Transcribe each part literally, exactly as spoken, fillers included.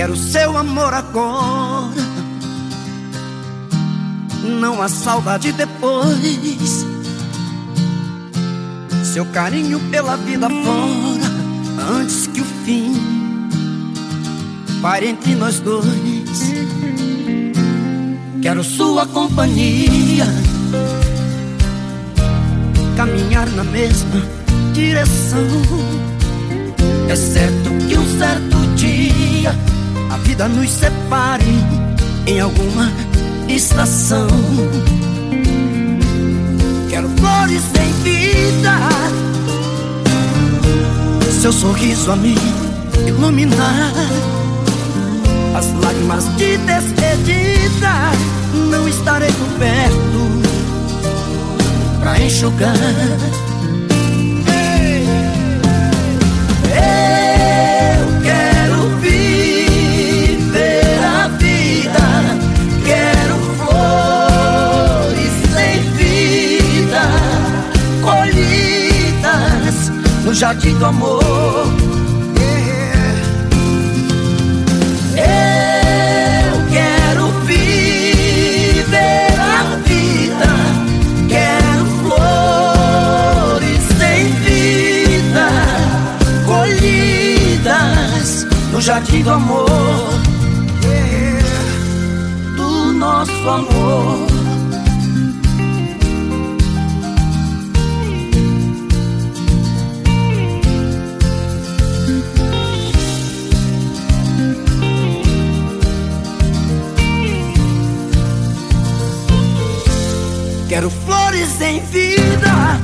Quero seu amor agora, não há saudade depois. Seu carinho pela vida fora, antes que o fim pare entre nós dois. Quero sua companhia, caminhar na mesma direção. É certo que um certo dia a vida nos separe em alguma estação. Quero flores sem vida, seu sorriso a me iluminar. As lágrimas de despedida não estarei por perto pra enxugar. Eu quero viver a vida, quero flores sem vida, colhidas no jardim do amor. Eu quero viver a vida, quero flores sem vida, colhidas no jardim do amor, do nosso amor. Quero flores em vida.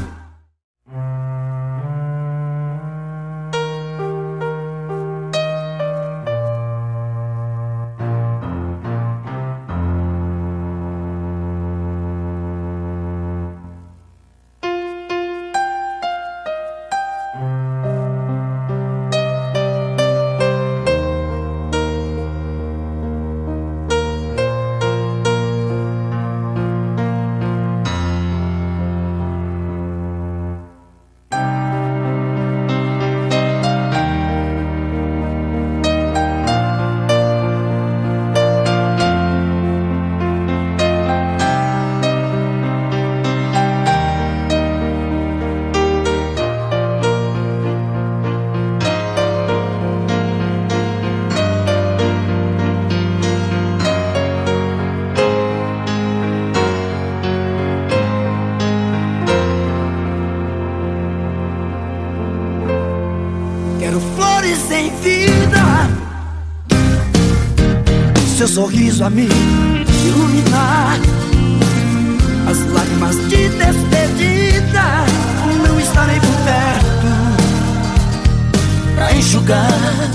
Quero flores em vida, seu sorriso a me iluminar. As lágrimas de despedida não estarei por perto pra enxugar.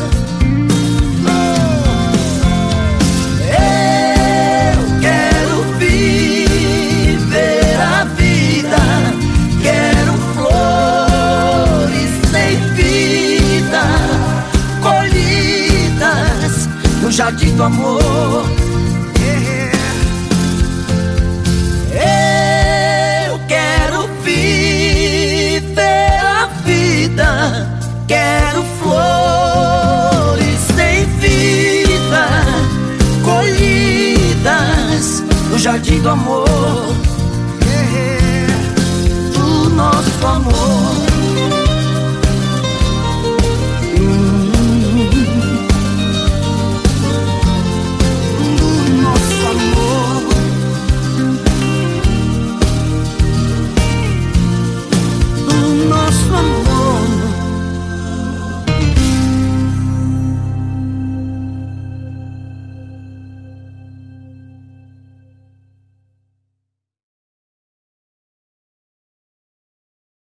Eu quero viver a vida, quero flores sem vida, colhidas no jardim do amor. Eu quero viver a vida, quero flores sem vida, colhidas no jardim do amor.